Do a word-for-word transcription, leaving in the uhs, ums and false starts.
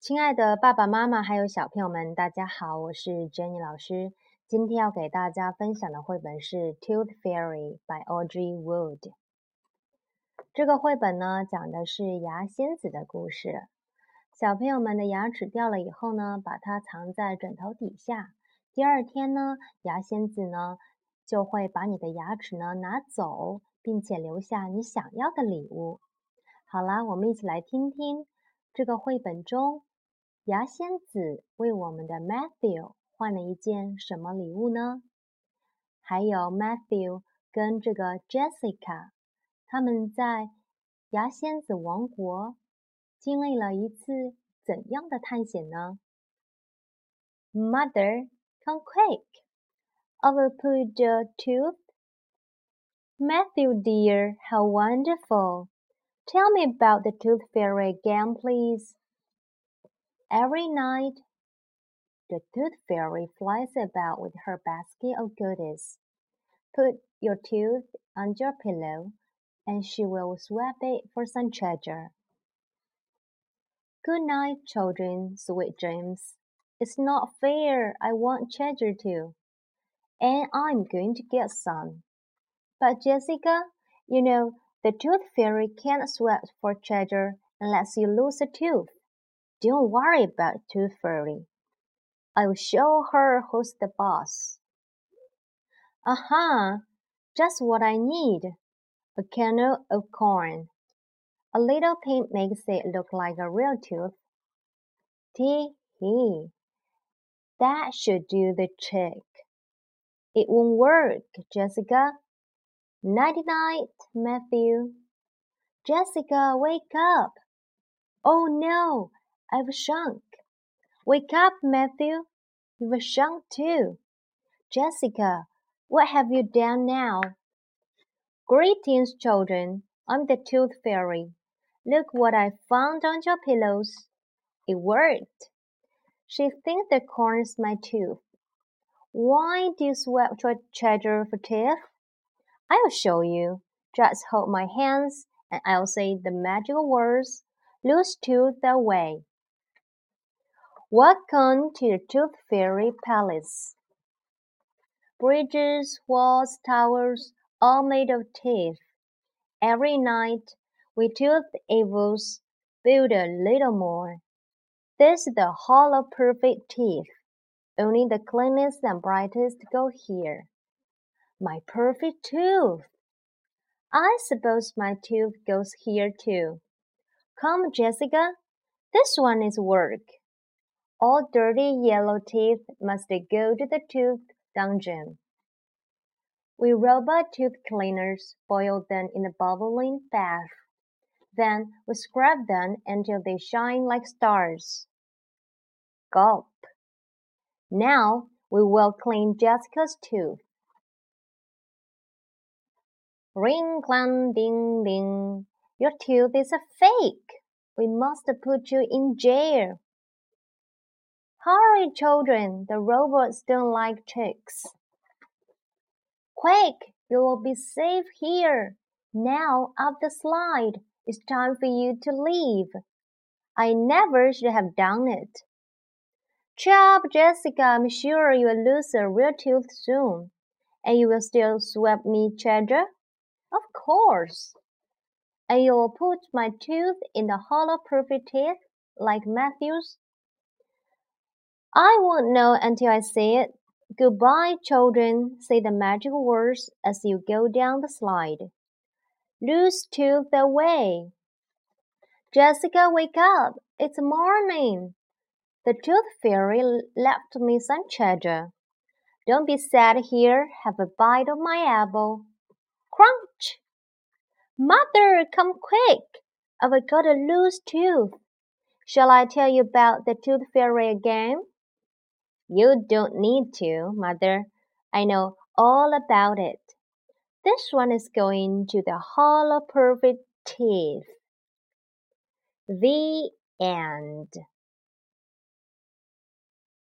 亲爱的爸爸妈妈还有小朋友们，大家好，我是 Jenny 老师。今天要给大家分享的绘本是《Tooth Fairy》by Audrey Wood。这个绘本呢，讲的是牙仙子的故事。小朋友们的牙齿掉了以后呢，把它藏在枕头底下。第二天呢，牙仙子呢就会把你的牙齿呢拿走，并且留下你想要的礼物。好啦，我们一起来听听这个绘本中牙仙子为我们的 Matthew 换了一件什么礼物呢？还有 Matthew 跟这个 Jessica 他们在牙仙子王国经历了一次怎样的探险呢？ Mother, come quick! I will pull the tooth. Matthew dear, how wonderful! Tell me about the Tooth Fairy again, please. Every night, the Tooth Fairy flies about with her basket of goodies. Put your tooth under your pillow, and she will swap it for some treasure. Good night, children, sweet dreams. It's not fair, I want treasure too. And I'm going to get some. But Jessica, you know, the Tooth Fairy can't swap for treasure unless you lose a tooth. Don't worry about Tooth Fairy. I'll show her who's the boss. Aha! Just what I need. A kernel of corn. A little paint makes it look like a real tooth. Tee-hee. That should do the trick. It won't work, Jessica. Nighty-night, Matthew. Jessica, wake up. Oh no, I've shrunk. Wake up, Matthew. You've shrunk too. Jessica, what have you done now? Greetings, children. I'm the Tooth Fairy. Look what I found on your pillows. It worked. She thinks the corn is my tooth. Why do you swap your treasure for teeth? I'll show you. Just hold my hands and I'll say the magical words. Lose tooth away. Welcome to the Tooth Fairy Palace. Bridges, walls, towers, all made of teeth. Every night, we tooth evils build a little more. This is the Hall of Perfect Teeth. Only the cleanest and brightest go here. My perfect tooth! I suppose my tooth goes here too. Come, Jessica, this one is work. All dirty yellow teeth must go to the tooth dungeon. We robot tooth cleaners boil them in a bubbling bath. Then we scrub them until they shine like stars. Gulp. Now we will clean Jessica's tooth. Ring, clang, ding, ding. Your tooth is a fake. We must put you in jail. Hurry, children, the robots don't like tricks. Quick, you will be safe here. Now up the slide. It's time for you to leave. I never should have done it. Cheer up, Jessica. I'm sure you will lose a real tooth soon. And you will still swap me treasure? Of course. And you will put my tooth in the Hall of Perfect Teeth, like Matthew's? I won't know until I say it. Goodbye, children. Say the magical words as you go down the slide. Lose tooth away. Jessica, wake up. It's morning. The Tooth Fairy left me some treasure. Don't be sad here. Have a bite of my apple. Crunch! Mother, come quick. I've got a loose tooth. Shall I tell you about the Tooth Fairy again? You don't need to, Mother. I know all about it. This one is going to the Hall of Perfect Teeth. The end.